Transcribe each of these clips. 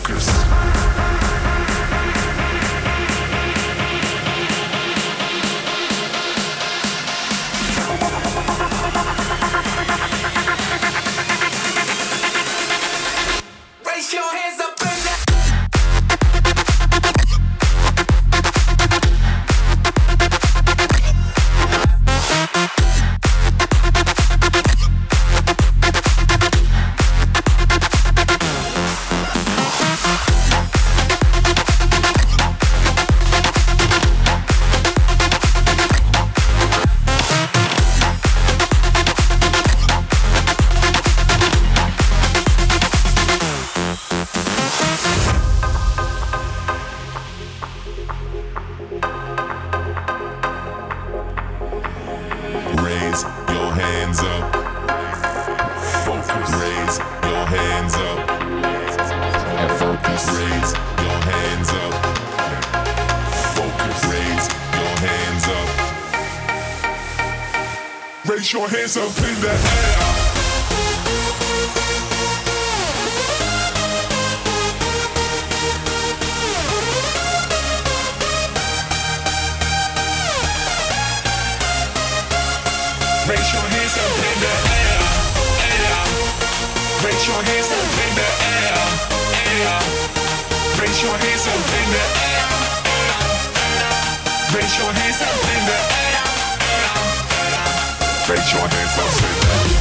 Raise your hands up in the air. Raise your hands up in the air, air. Raise your hands up in the air, air. Raise your hands up in the air, air. Raise your hands up in the air, air. Raise your hands up in the air.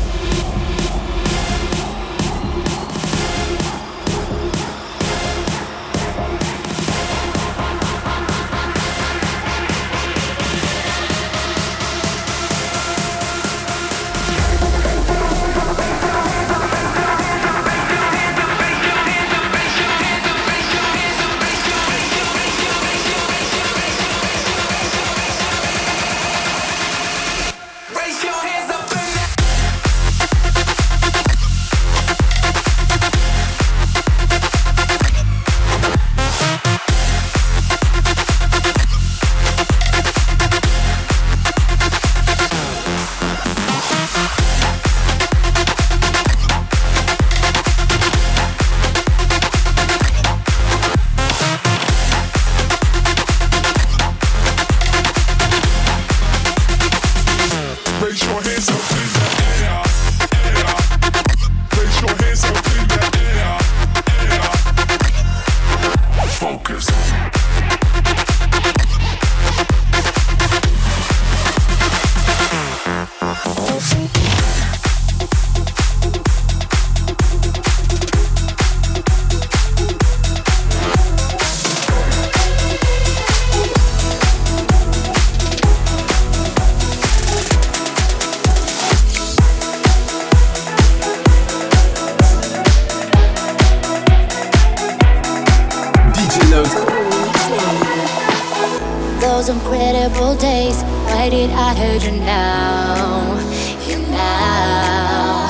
Those incredible days, why did I hurt you now? You now.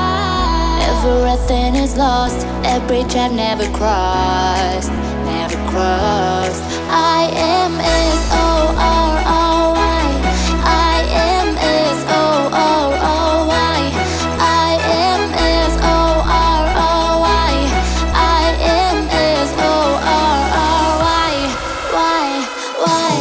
Everything is lost, that bridge I've never crossed, never crossed. I am S-O-R-R-Y. I am S-O-R-R-Y. I am S-O-R-R-Y. I am S-O-R-R-Y. Why?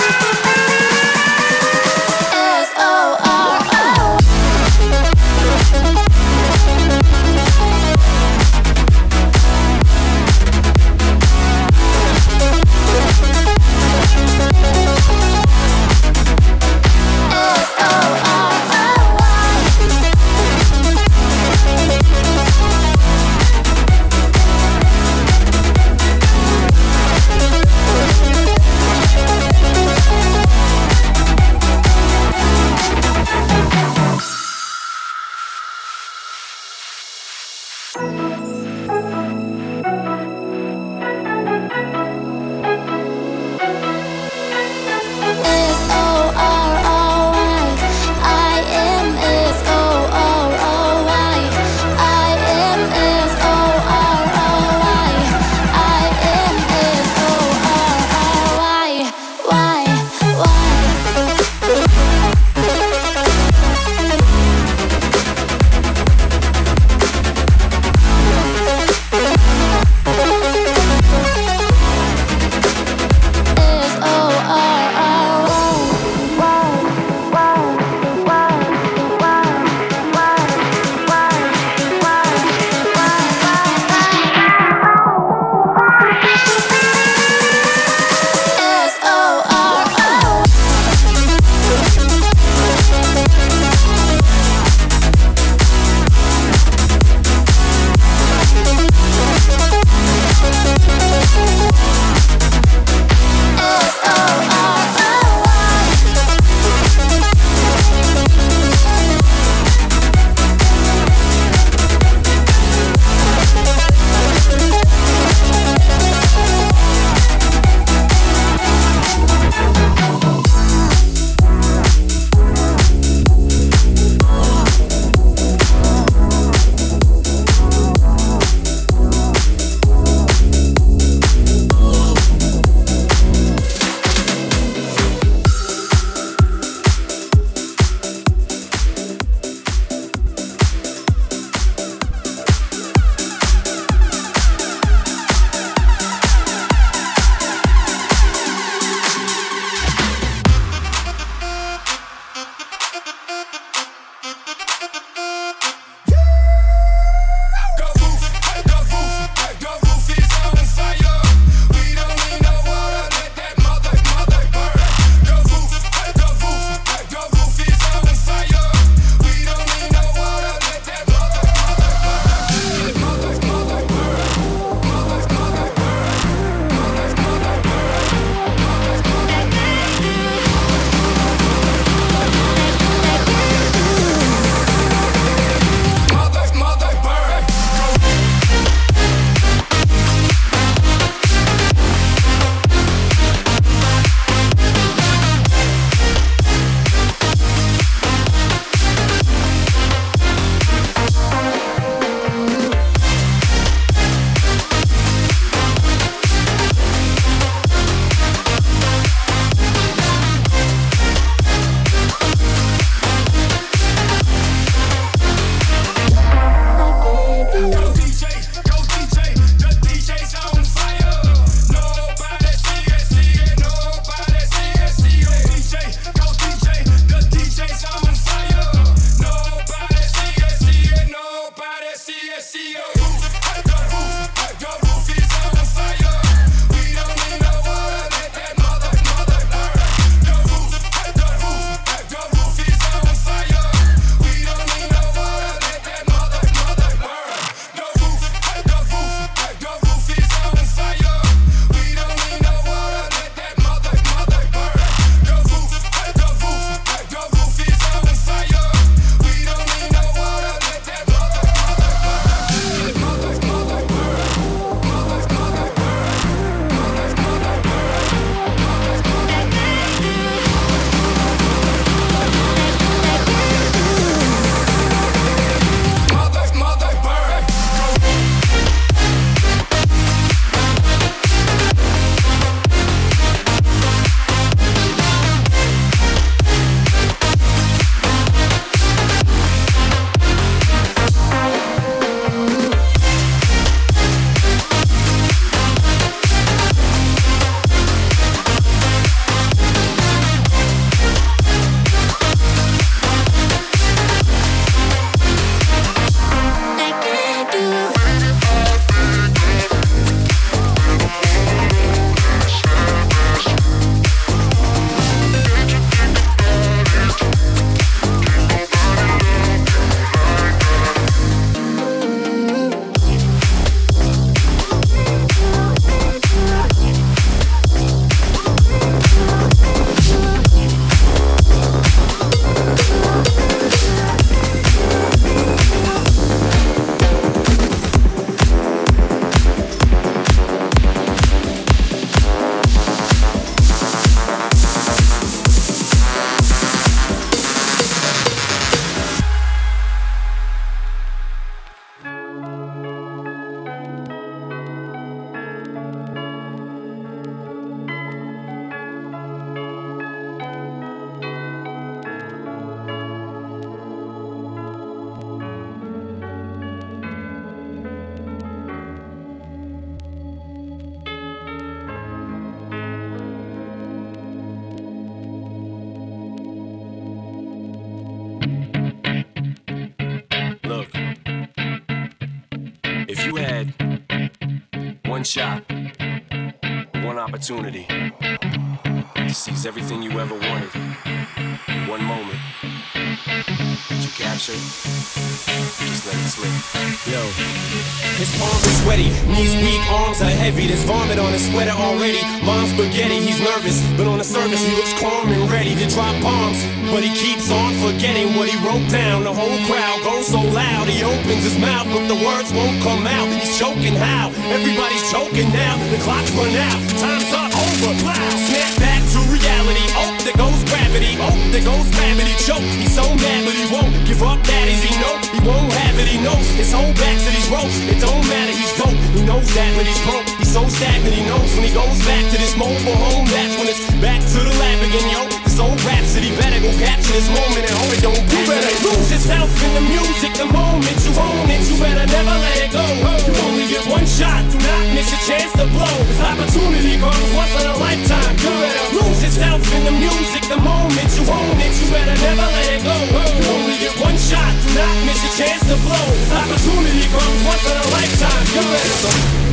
S-O-R-R. one shot, one opportunity to seize everything you ever wanted. One moment that you capture, just let it slip. Yo, his palms are sweaty, knees weak, arms are heavy. There's vomit on his sweater already. Mom's spaghetti, he's nervous, but on the surface he looks calm and ready to drop bombs. But he keeps on forgetting what he wrote down. The whole crowd goes so loud, he opens his mouth, but the words won't come out. He's choking how? Everybody's choking now. The clock's run out, time's up, over, loud. Snap back to reality. Oh, there goes gravity. Oh, there goes gravity. Choke. He's so mad, but he won't give up. That is, he know he won't have it. He knows his whole back to these ropes. It don't matter, he's dope. He knows that, but he's broke. He's so stagnant. He knows when he goes back to this mobile home. That's when it's back to the lab again, yo. This old rhapsody better go capture this moment and hope it don't pass. You better lose yourself in the music. The moment you own it, you better never let it go. You only get one shot. Do not miss a chance to blow. This opportunity comes once in a lifetime. You better lose yourself in the music. The moment you own it, you better never let it go. You only get one shot. Do not miss a chance to blow. This opportunity comes once in a lifetime. You better.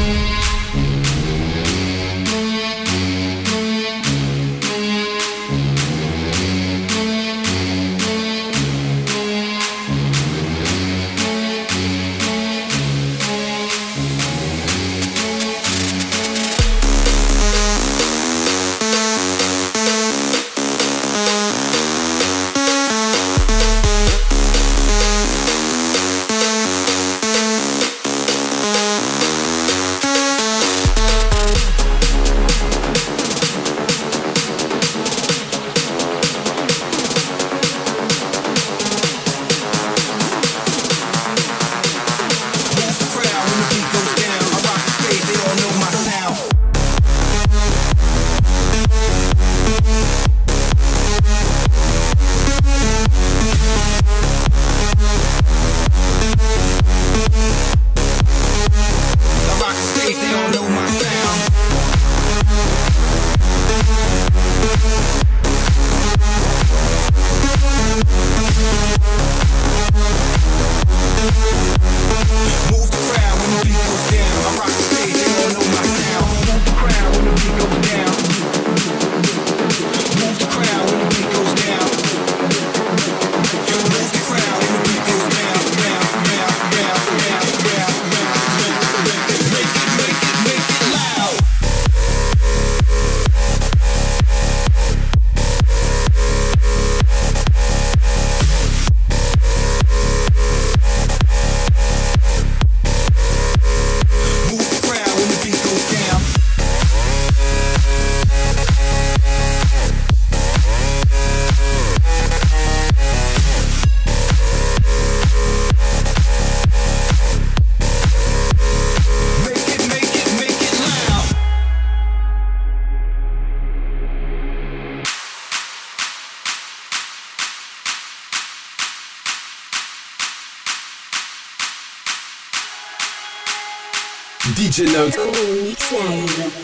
DJ Note. Mix Live.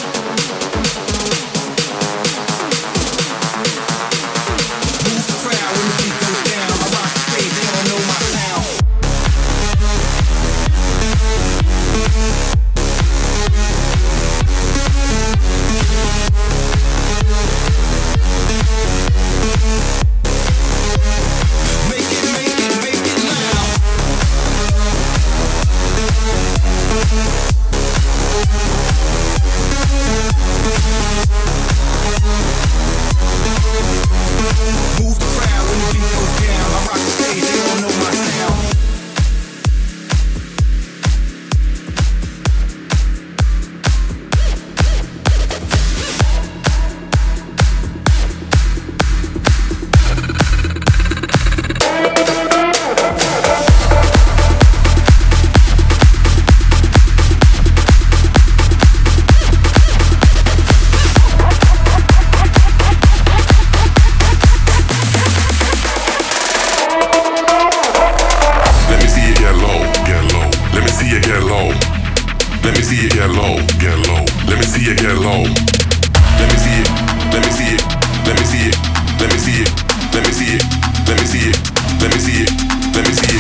Move the crowd. see it get low, get low. Let me see it get low. Let me see it, let me see it, let me see it, let me see it, let me see it, let me see it, let me see it, let me see it.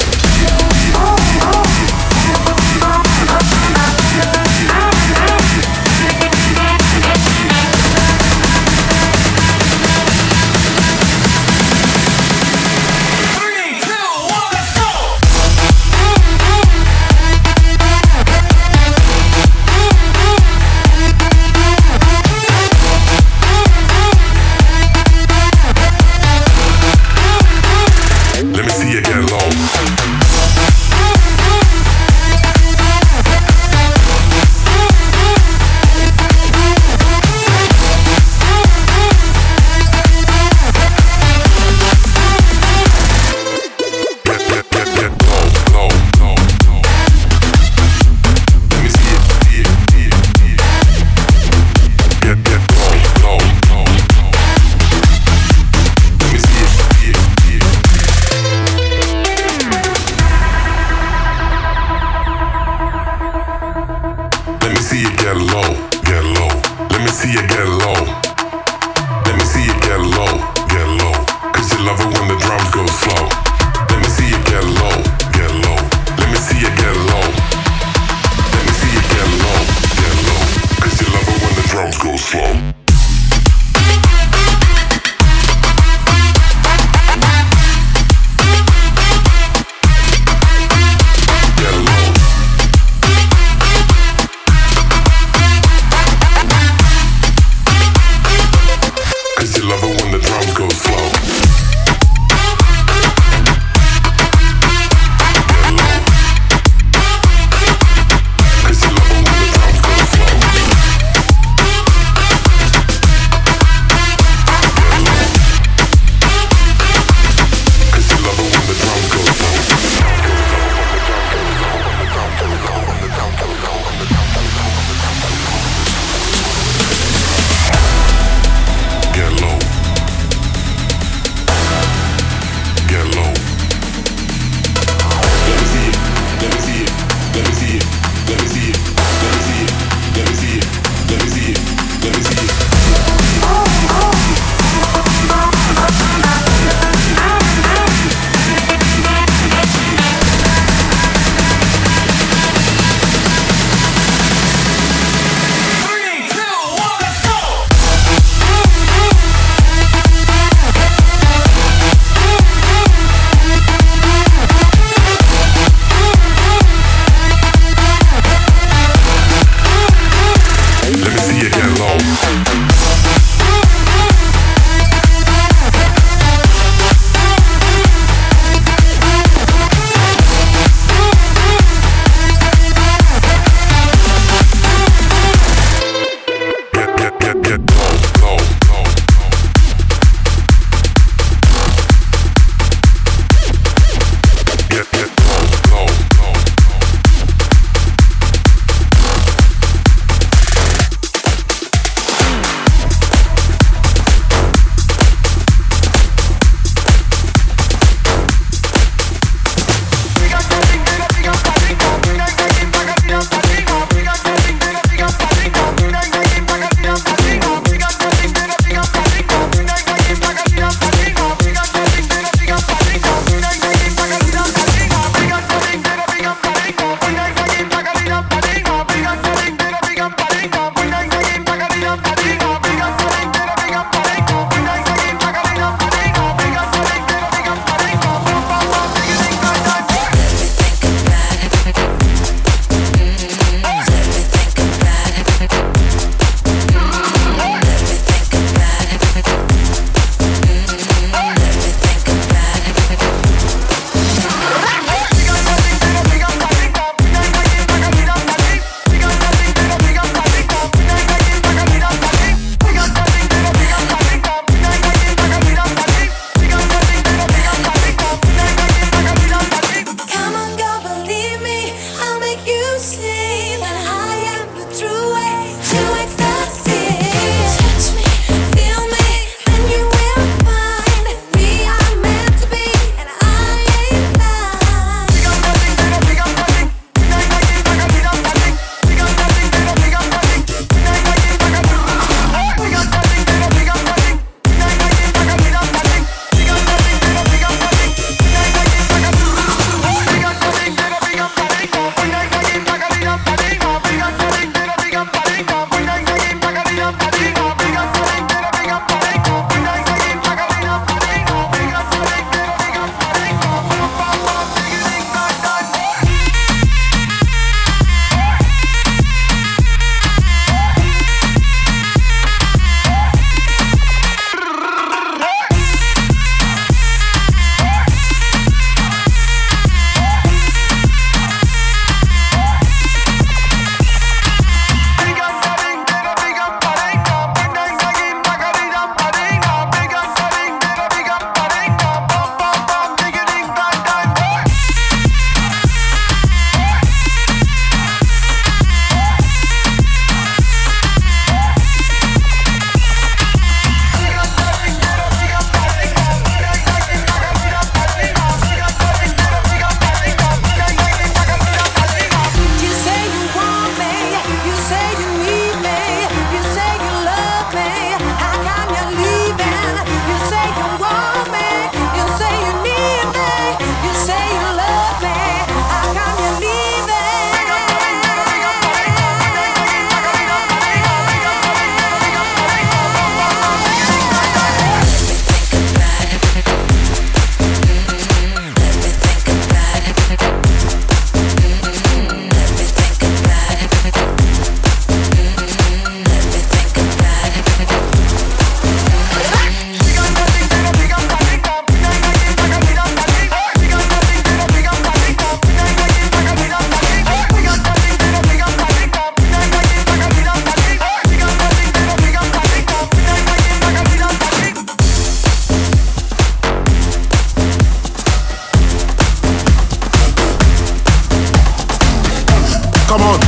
Come on.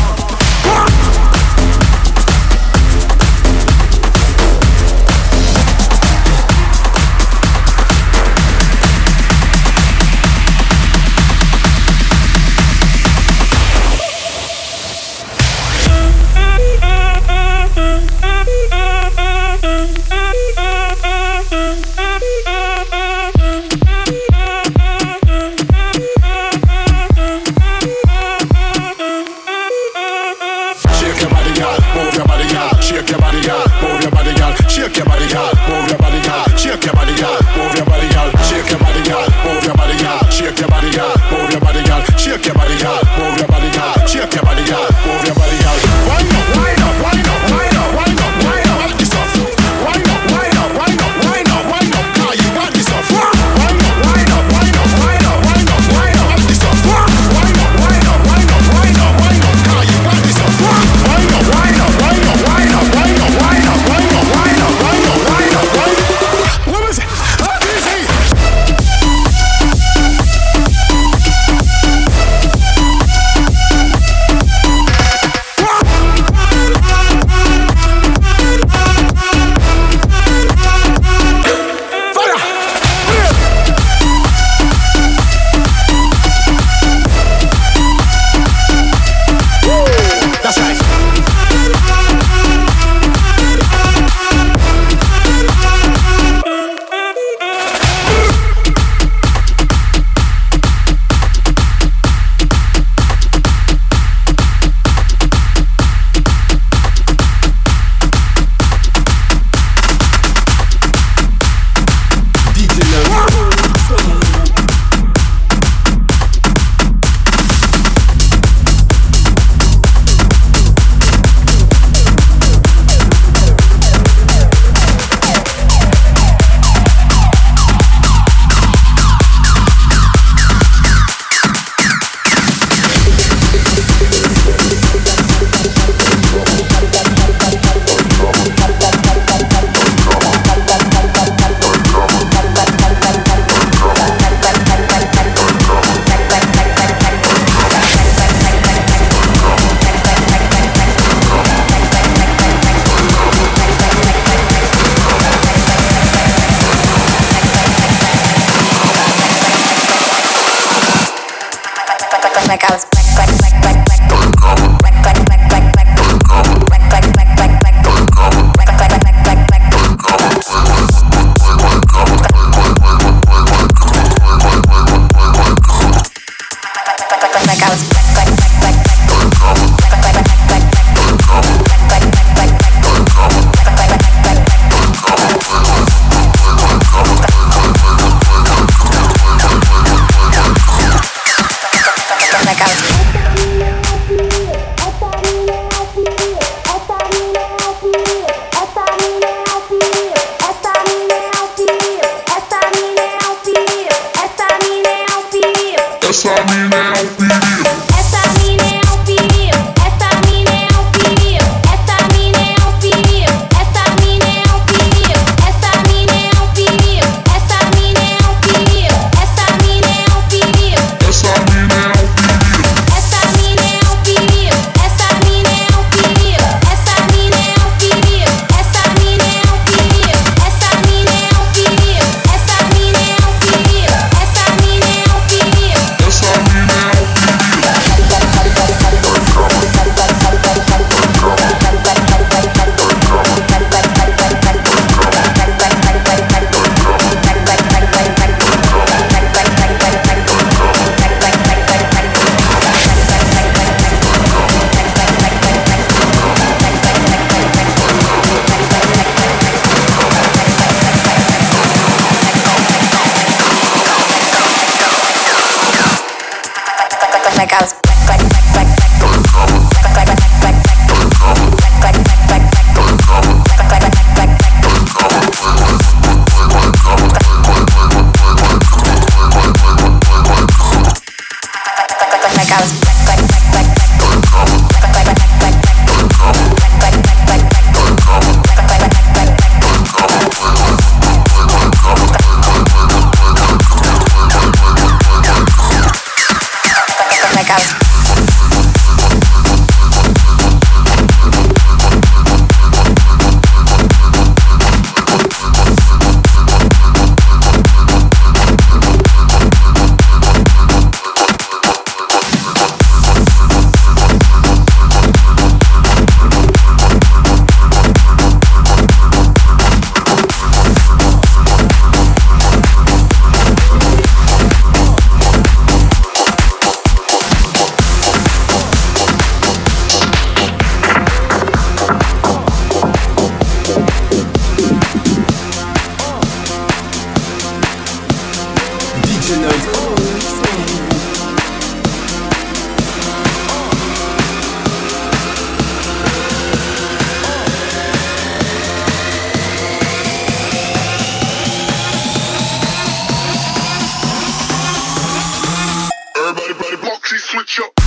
Moxie switch up.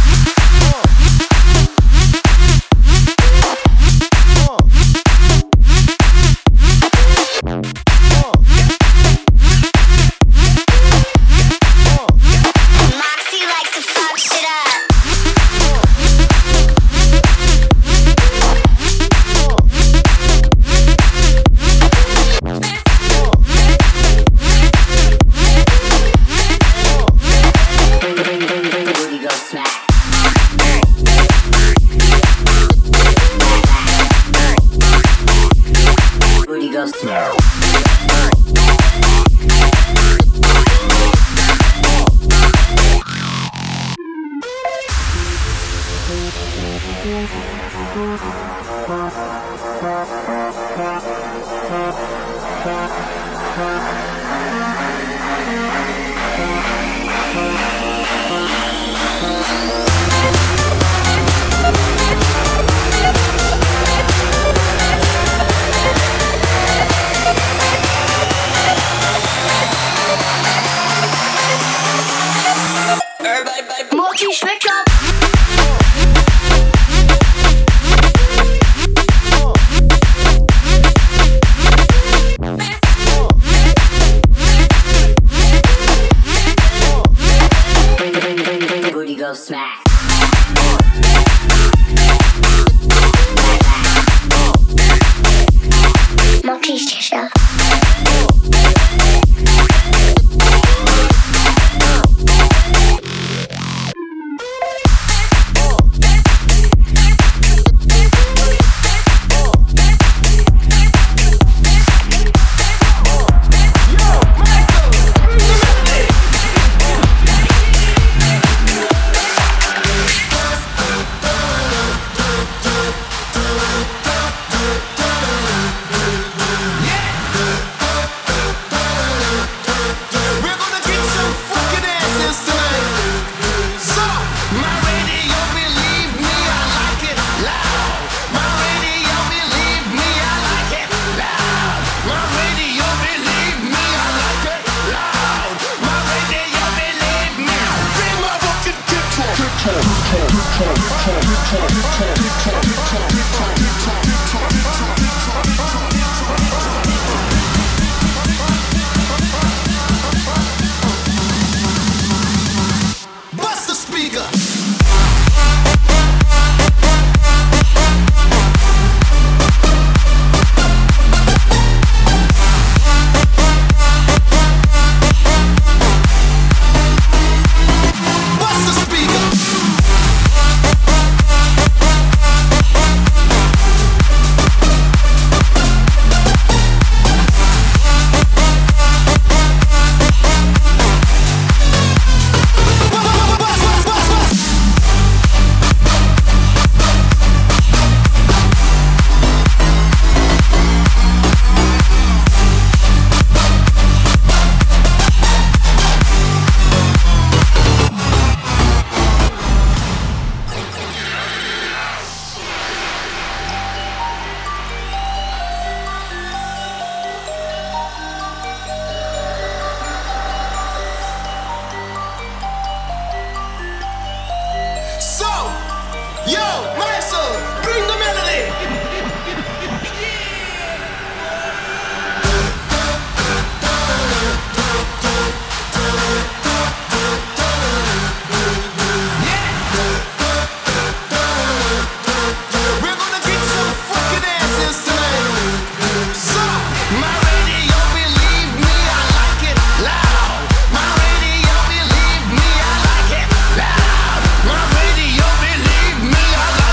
Moxie likes to fuck shit up. Booty go smack. Booty go smack. Moxie switch up. Booty go smack. Moxie switch up. Bust the speaker. Bust the speaker. So, yo, Maestro, bring the melody. We're gonna get some fucking asses tonight. So, my radio, believe me, I like it loud. My radio, believe me, I like it loud. My radio, believe me, I like it.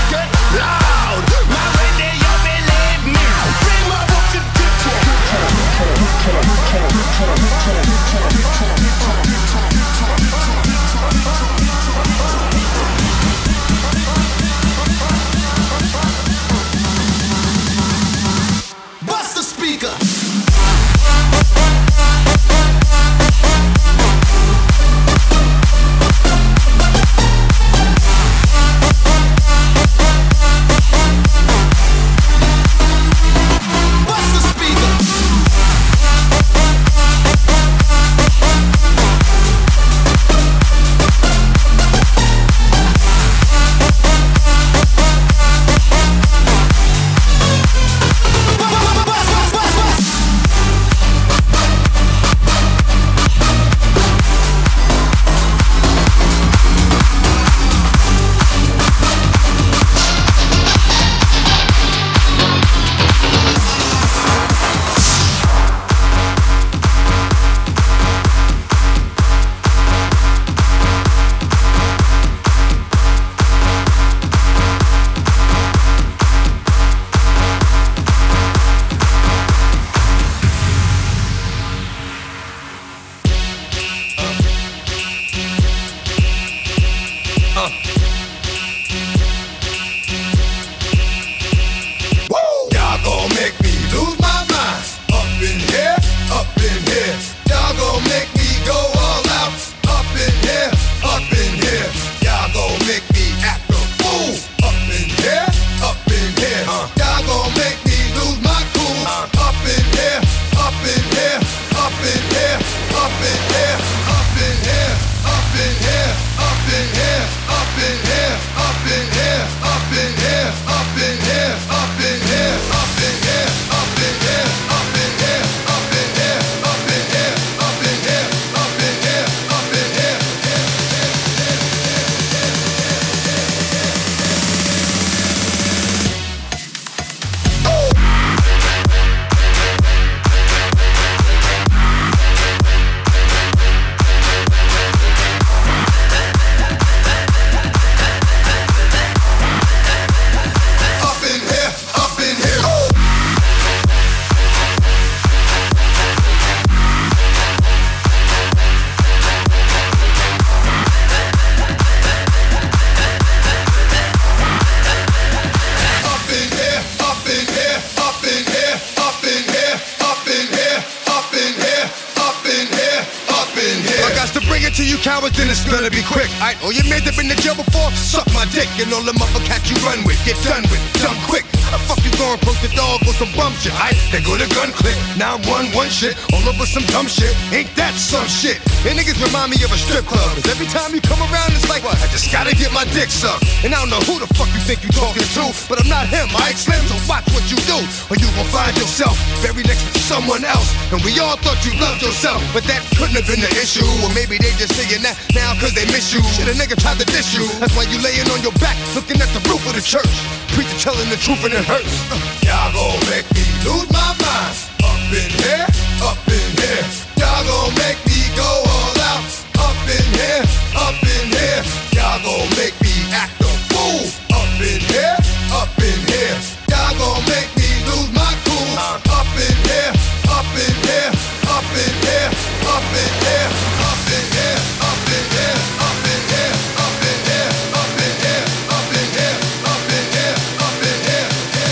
then it's gonna be quick. Alright, all your mans have been to jail before, suck my dick. And all the motherfuckers you run with, get done with, dumb quick. How the fuck you gonna approach the dog with some bum shit? Alright, they go to gun click, 911 shit, all over some dumb shit. Ain't that some shit? And niggas remind me of a strip club, cause every time you come around it's like, what? I just gotta get my dick sucked. And I don't know who the fuck you think you talking to, but I'm not him, alright Slim, so watch what you do, or you gon' find yourself very next to someone else. And we all thought you loved yourself, but that couldn't have been the issue. Or maybe they just saying that now cause they miss you. Shit, a nigga tried to diss you, that's why you laying on your back, looking at the roof of the church. Preacher telling the truth and it hurts. Y'all gon' make me lose my mind. Up in here, up in here. Y'all gon' make me go all out. Up in here, up in here. Y'all gon' make me act a fool. Up in here, up in here. Y'all gon' make me lose my cool. Up in here, up in here, up in here, up in here, up in here, up in here, up in here, up in here, up in here, up in here, up in here, up in here.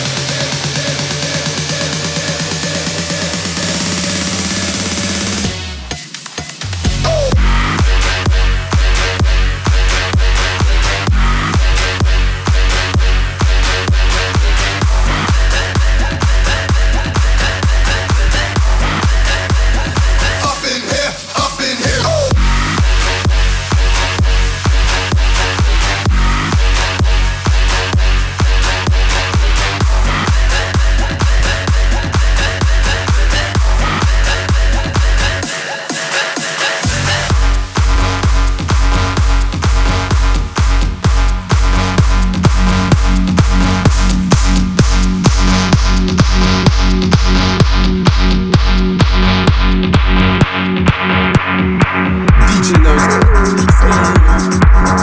DJ Notes.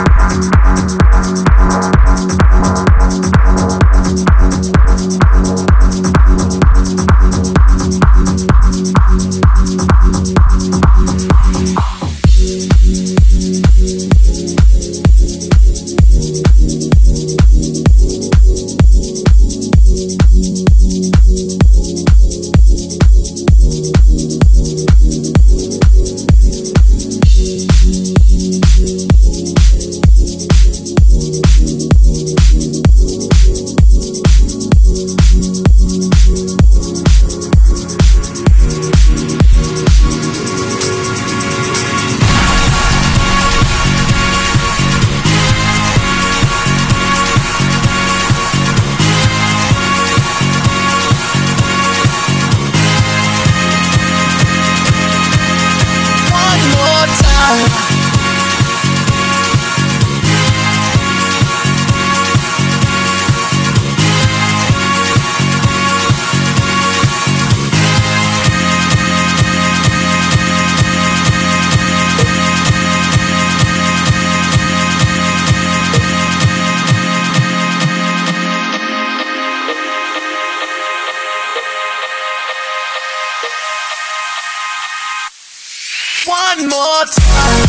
One more time.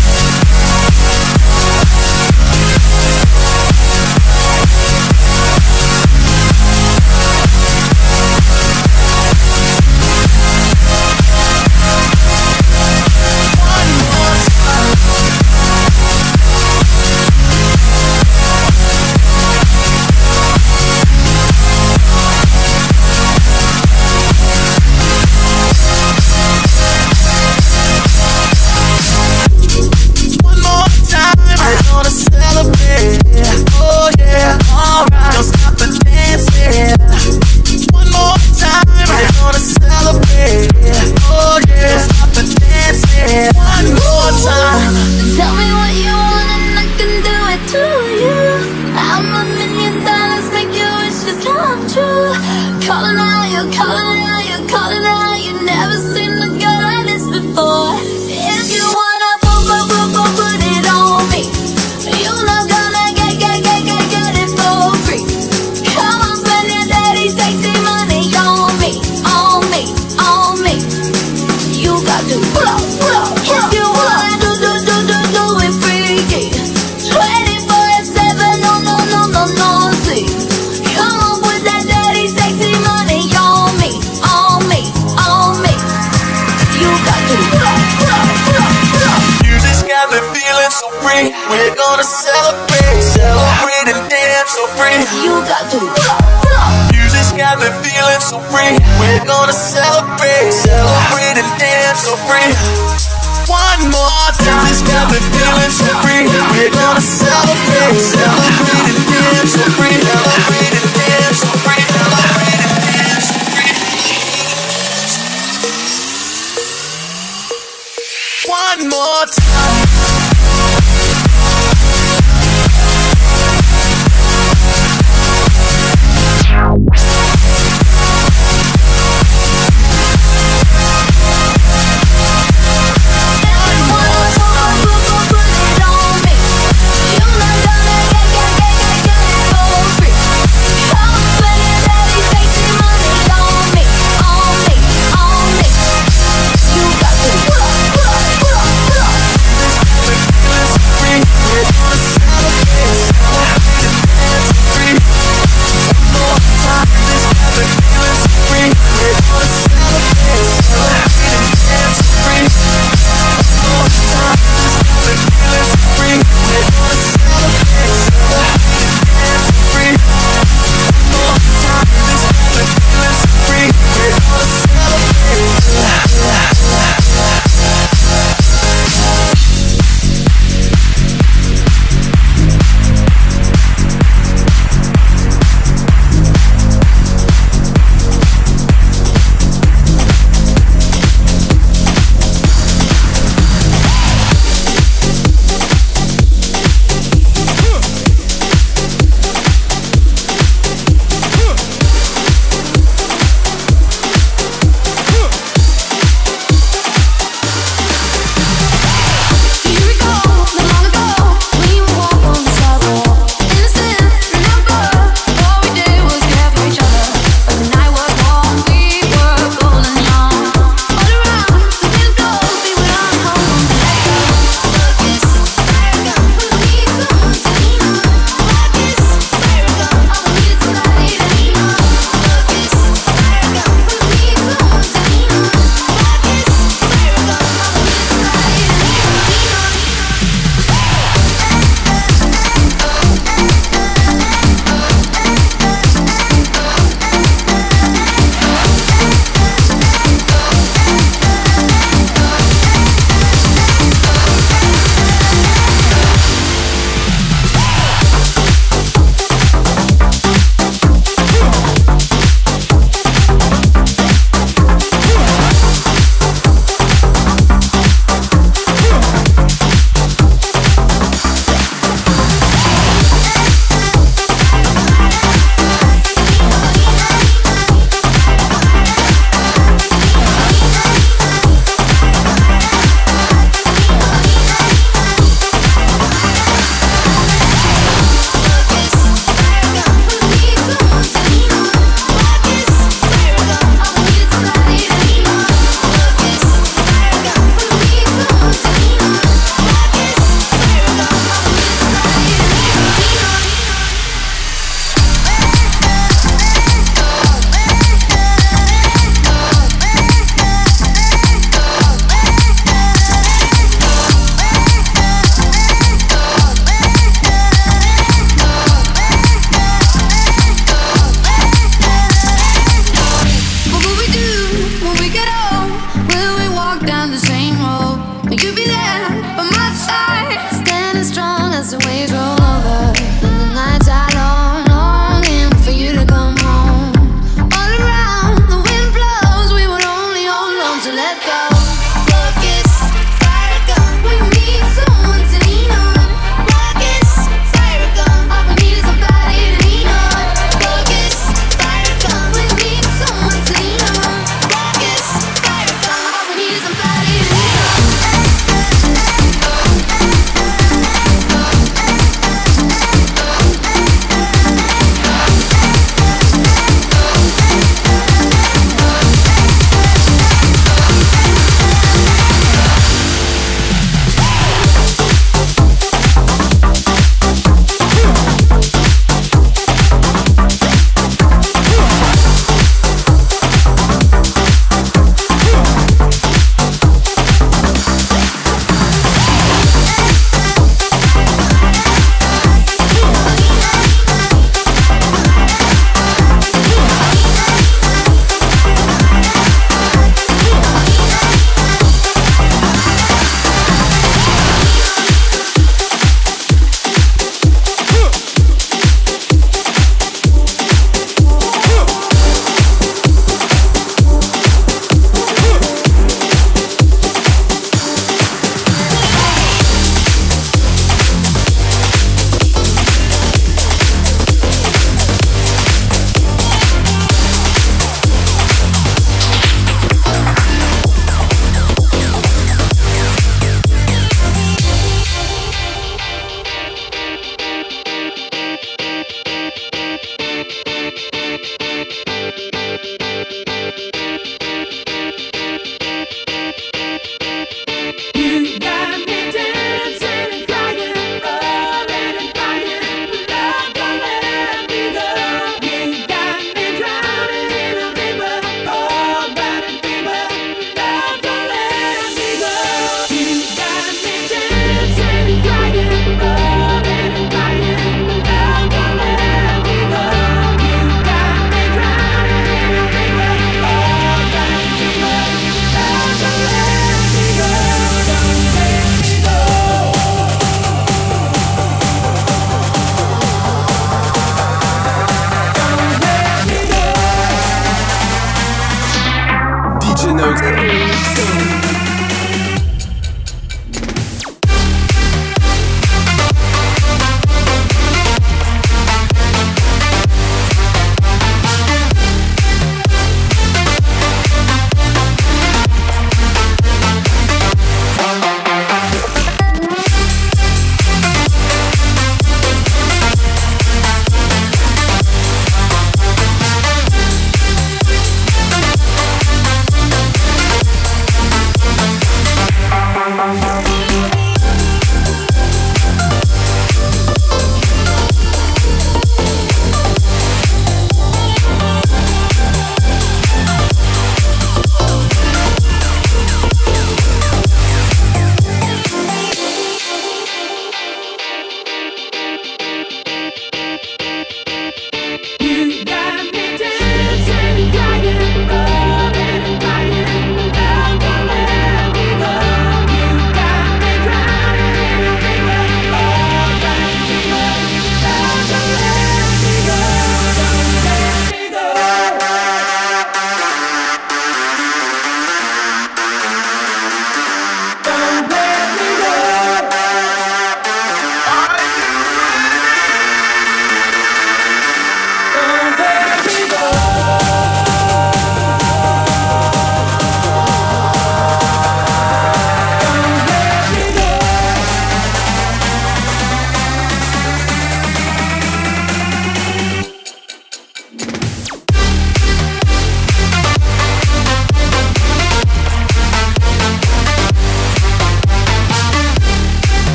Come on with that dirty, sexy money on me. We're gonna celebrate, celebrate and dance so free. You got to Music's got me feeling so free. We're gonna celebrate, celebrate and dance so free. One more time, music's got me feeling so free. We're gonna celebrate, celebrate and dance so free. Celebrate and dance so free. Celebrate and dance so free. One more time. put it on me. You're not gonna get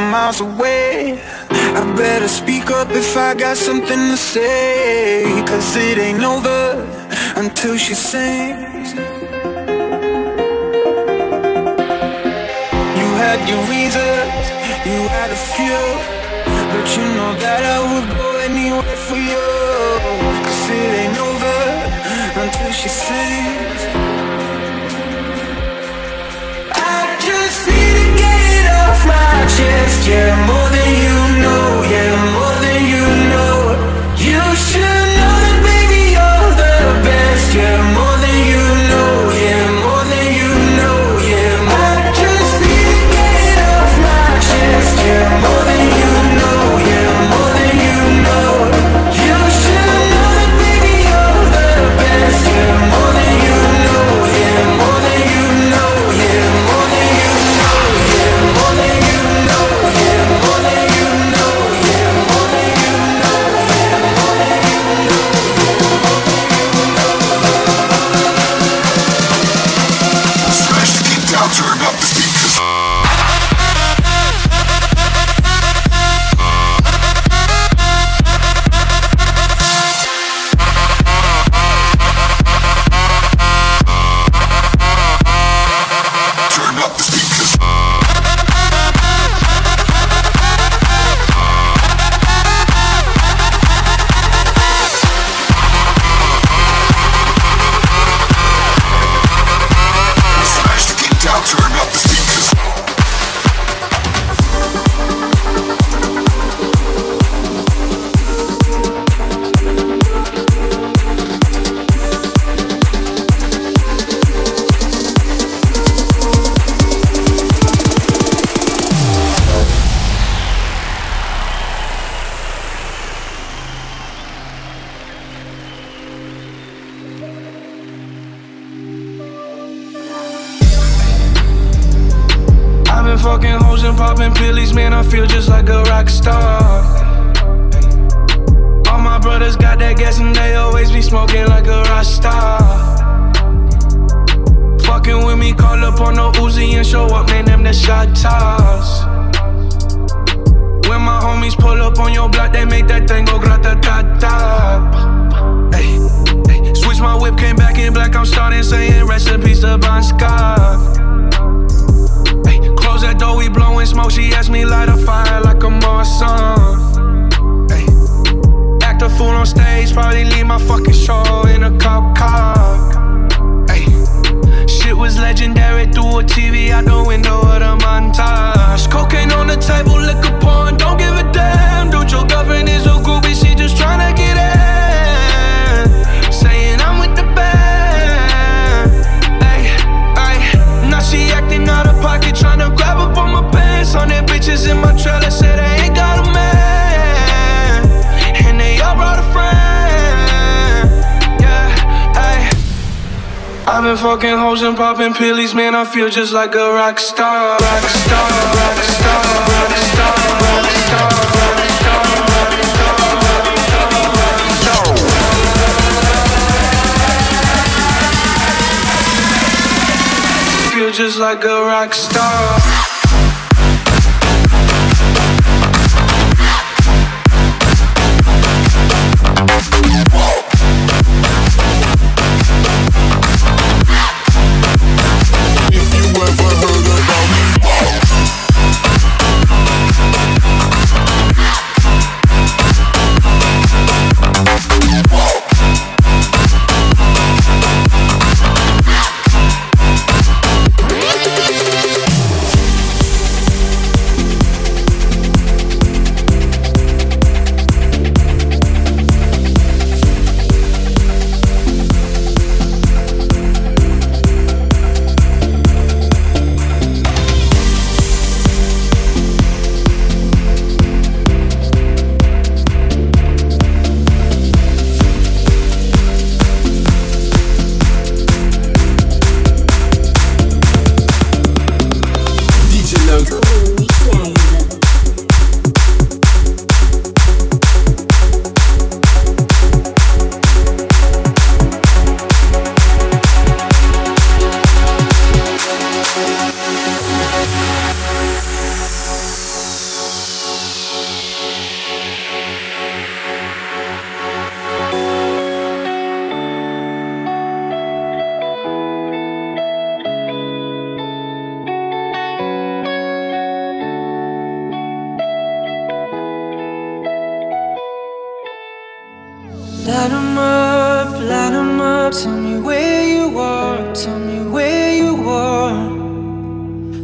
miles away. I better speak up if I got something to say, 'cause it ain't over until she sings. You had your reasons, you had a few, but you know that I would go anywhere for you, 'cause it ain't over until she sings. I just need to get it off my chest, yeah, more than you know, yeah, more than you know. You should know that, baby, you're the best, yeah, more than you know, yeah, more than you know, yeah. I just need to get it off my chest, yeah, more than you know, yeah, more than you know. You should know that, baby, you're the best, yeah, more than you know, yeah, more than you know, yeah, more than you know, yeah, more than you know, yeah, more than you know, yeah, more than you know, yeah, more than you know. Smash the kick down, turn up the speakers. Turn up the speakers. Smash the kick down, turn up the speakers. I've been fucking hoes and popping pillies, man, I feel just like a rock star. All my brothers got that gas and they always be smoking like a rock star. Fucking with me, call up on no Uzi and show up, man, them the shot toss. When my homies pull up on your block, they make that thing go grata-ta-ta. Ay, ay. Switch my whip, came back in black, I'm starting saying recipes to Bon Scott. Close that door, we blowing smoke. She asked me light a fire like a Marsan. Ay. Act a fool on stage, probably leave my fucking show in a cop car. Ay. Shit was legendary, through a TV out the window of the montage. Cocaine on the table, liquor porn, don't give a damn. Dude, your girlfriend is a groupie, she just tryna get in. Saying I'm with the band. Ay, ay. Now she acting out of pocket, tryna grab up on my pants. On their bitches in my trailer, say they ain't got a man, and they all brought a friend. Yeah, ay. I've been fucking hoes and popping pillies, man, I feel just like a rock star. Rock star, rock star, rock star, rock star, rock star, rock star, rock star. Feel just like a rock star. If you ever heard about me,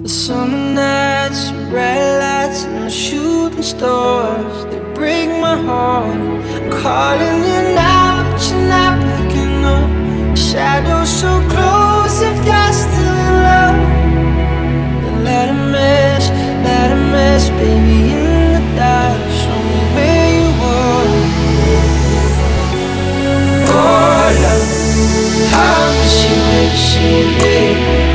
The summer nights, red lights, and the shooting stars, they break my heart. I'm calling you now, but you're not picking up. Shadows so close, if you're still in love, then let a mess, baby, in the dark. Show me where you are. Oh, love, I miss you every single day.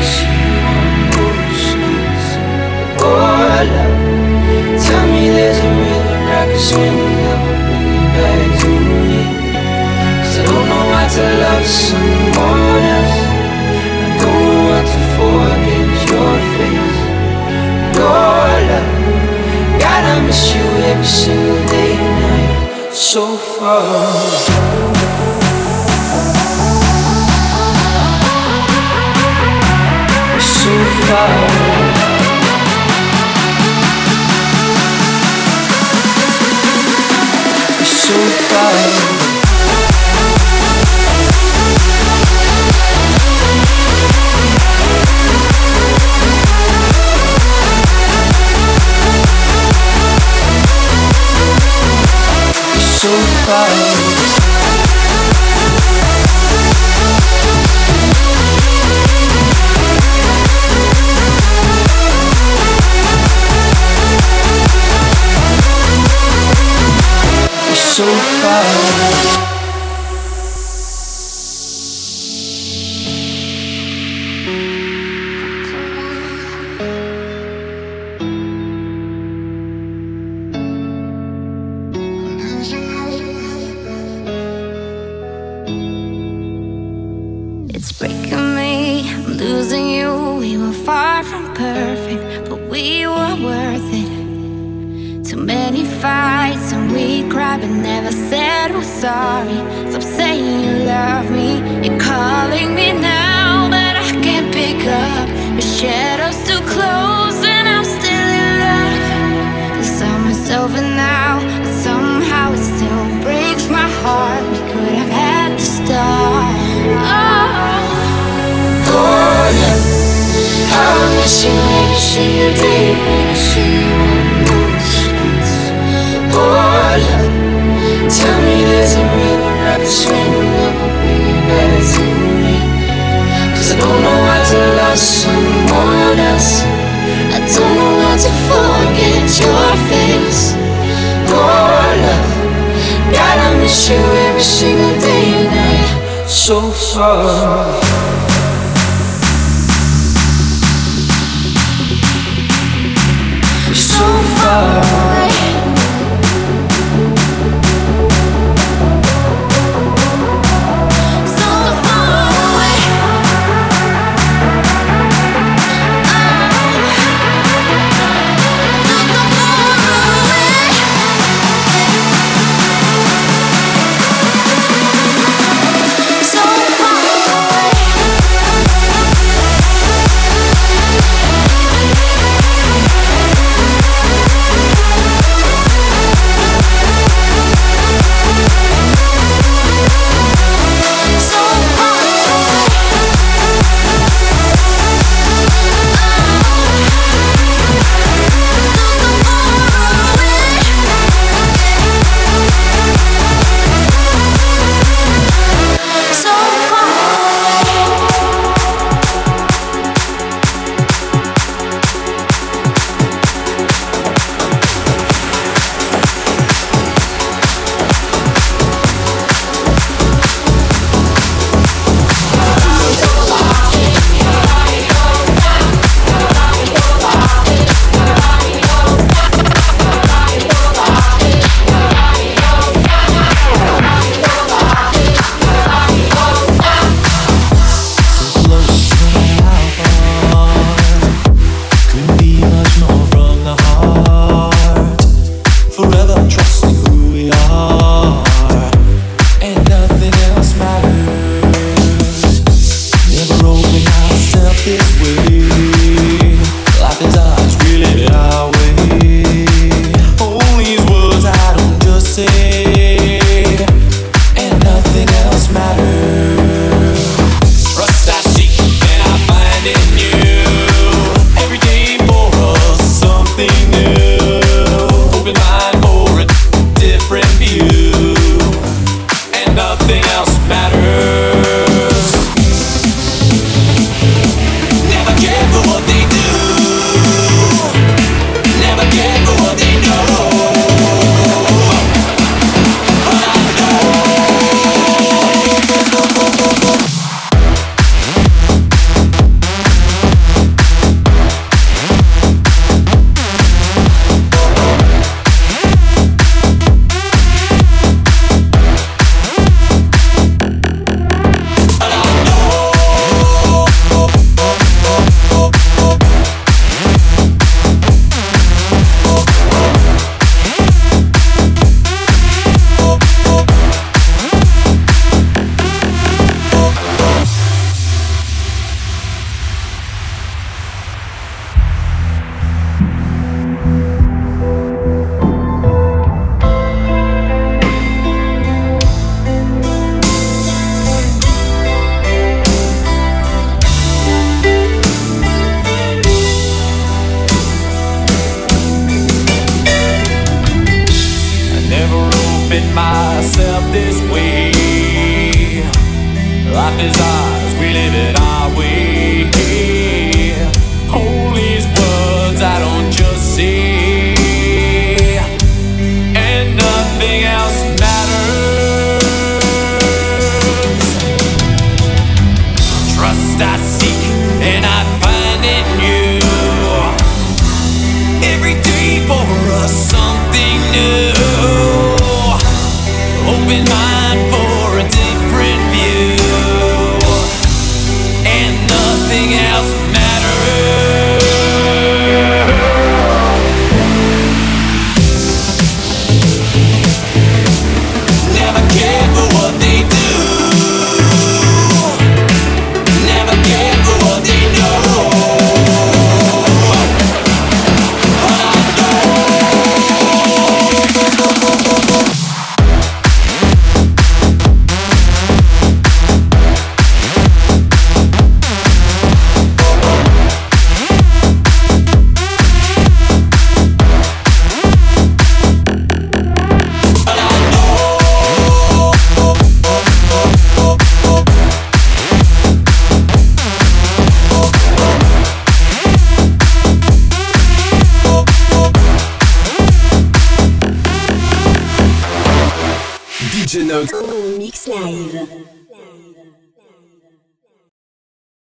Oh, love, tell me there's a river I can swim that will bring you back to me. 'Cause I don't know how to love someone else. I don't know how to forget your face. Oh, love, God, I miss you every single day and night. So far. So far. So far. So far. So far. It's breaking me, I'm losing you. We were far from perfect, but we were worth it. Too many fights and we cried but never said we're sorry. Stop saying you love me, you're calling me now, but I can't pick up. The shadows too close and I'm still in love. Cause I'm myself and now, but somehow it still breaks my heart. We could have had to start. Oh, love, I miss you every single day when I see you on those streets. Oh, love, tell me there's a river I can swim that will bring you back to me. 'Cause I don't know how to love someone else. I don't know how to forget your face. Oh, love, God, I miss you every single day and night. So far. So far away. So far away. So far away. this way. Life is ours, we live it our way. Hold these words I don't just say, and nothing else matters. Trust I seek and I find in you. Every day for us something new. Open mind for a different view, and nothing else matters. Never care for what they do. Never care for what they know. But I DJ Nox. En mix live.